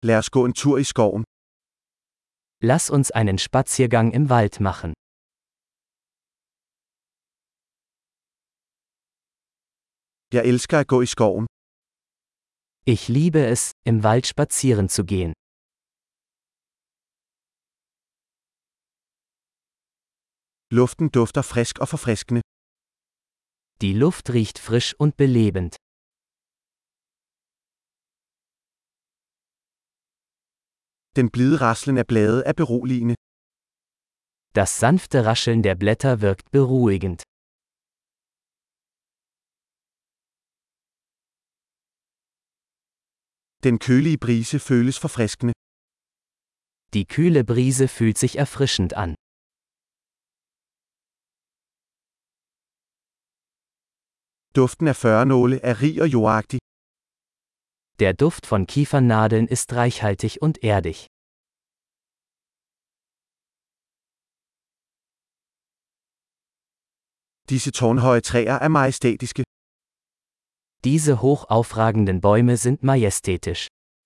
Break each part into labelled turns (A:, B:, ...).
A: Lad os gå en tur i skoven.
B: Lass uns einen Spaziergang im Wald machen.
A: Jeg elsker at gå i skoven.
B: Ich liebe es, im Wald spazieren zu gehen.
A: Luften dufter frisk og forfriskende.
B: Die Luft riecht frisch und belebend.
A: Den blide raslen af blade er beroligende.
B: Das sanfte Rascheln der Blätter wirkt beruhigend.
A: Den kølige brise føles forfriskende.
B: Die kühle Brise fühlt sich erfrischend an.
A: Duften af førnåle er rig og jordagtig.
B: Der Duft von Kiefernadeln ist reichhaltig und erdig.
A: Disse tårnhøje træer er majestætiske.
B: Diese hoch aufragenden Bäume sind majestätisch.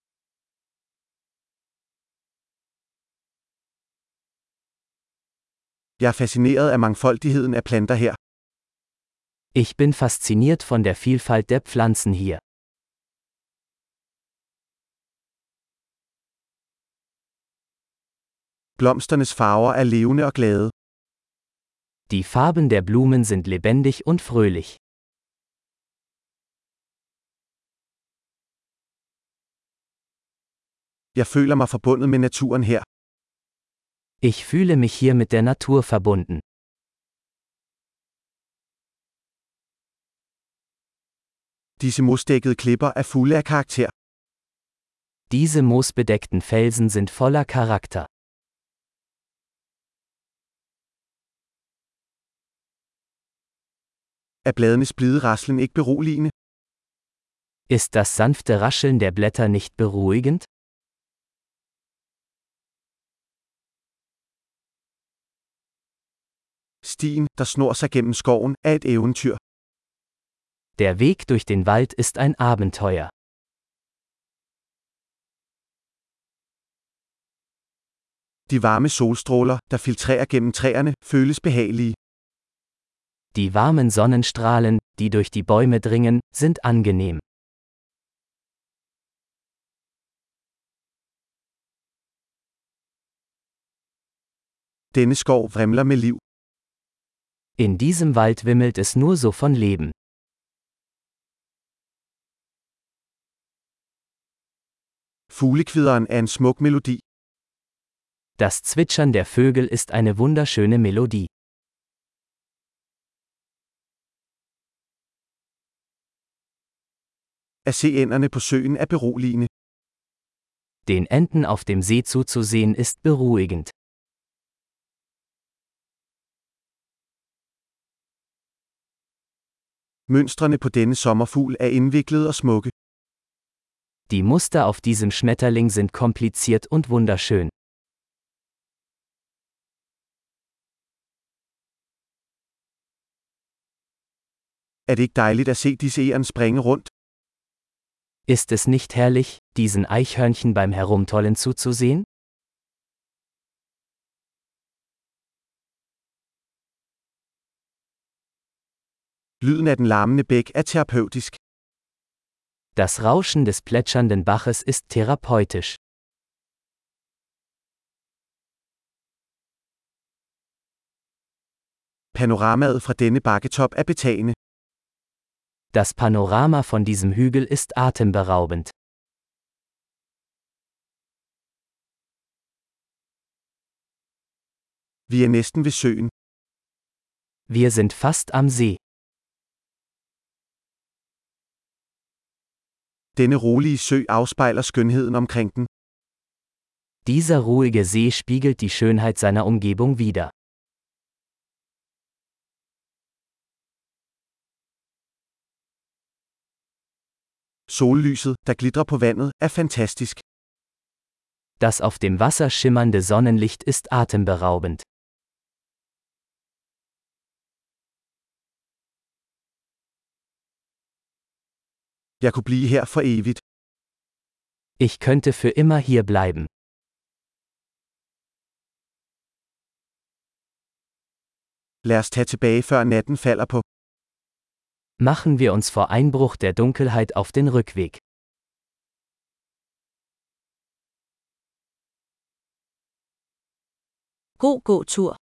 A: Jeg er fascineret af mangfoldigheden af planter her.
B: Ich bin fasziniert von der Vielfalt der Pflanzen hier.
A: Blomsternes farver er levende og glade.
B: Die Farben der Blumen sind lebendig und fröhlich.
A: Jeg føler mig forbundet med naturen her.
B: Ich fühle mich hier mit der Natur verbunden.
A: Disse mosdækkede klipper er fulde af karakter.
B: Diese moosbedeckten Felsen sind voller Charakter.
A: Er bladenes blide raslen ikke beroligende?
B: Ist das sanfte Rascheln der Blätter nicht beruhigend?
A: Stien, der snor sig gennem skoven, er et eventyr.
B: Der Weg durch den Wald ist ein Abenteuer.
A: De varme solstråler, der filtrerer gennem træerne, føles behagelige.
B: Die warmen Sonnenstrahlen, die durch die Bäume dringen, sind angenehm.
A: Denne skov vrimler med liv.
B: In diesem Wald wimmelt es nur so von Leben.
A: Fuglekvideren er en smuk melodi.
B: Das Zwitschern der Vögel ist eine wunderschöne Melodie.
A: At se ænderne på søen er beroligende.
B: Den Enten auf dem See zuzusehen ist beruhigend.
A: Mønstrene på denne sommerfugl er indviklede og smukke.
B: Die Muster auf diesem Schmetterling sind kompliziert und wunderschön.
A: Er det ikke dejligt at se disse egern springe rundt?
B: Ist es nicht herrlich, diesen Eichhörnchen beim Herumtollen zuzusehen?
A: Lyden af den larmende bæk er terapeutisk.
B: Das Rauschen des plätschernden Baches ist therapeutisch.
A: Panoramaet fra denne bakketop er betagende.
B: Das Panorama von diesem Hügel ist atemberaubend.
A: Vi er næsten ved søen.
B: Wir sind fast am See.
A: Denne rolige sø afspejler skønheden omkring den.
B: Dieser ruhige See spiegelt die Schönheit seiner Umgebung wider.
A: Sollyset, der glitrer på vandet, er fantastisk.
B: Das auf dem Wasser schimmernde Sonnenlicht ist atemberaubend.
A: Jeg kunne blive her for evigt.
B: Ich könnte für immer hier bleiben.
A: Lad os tage tilbage før natten falder på.
B: Machen wir uns vor Einbruch der Dunkelheit auf den Rückweg.
C: God gåtur.